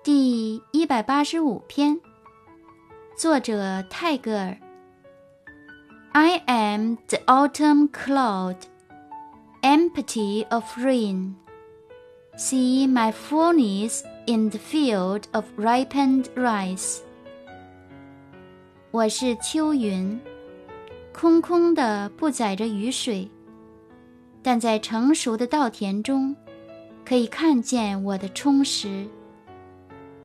第185篇，作者泰戈尔。I am the autumn cloud, empty of rain. See my furnace in the field of ripened rice. 我是秋云，空空的不载着雨水，但在成熟的稻田中，可以看见我的充实。